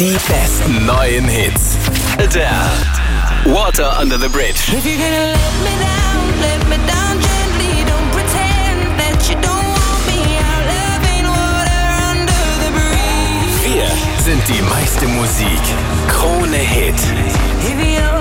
Die besten neuen Hits. Adele, Water Under the Bridge. If you're gonna let me down gently. Don't pretend that you don't want me. Our love ain't water under the bridge. Wir sind die meiste Musik. Krone Hit. If you're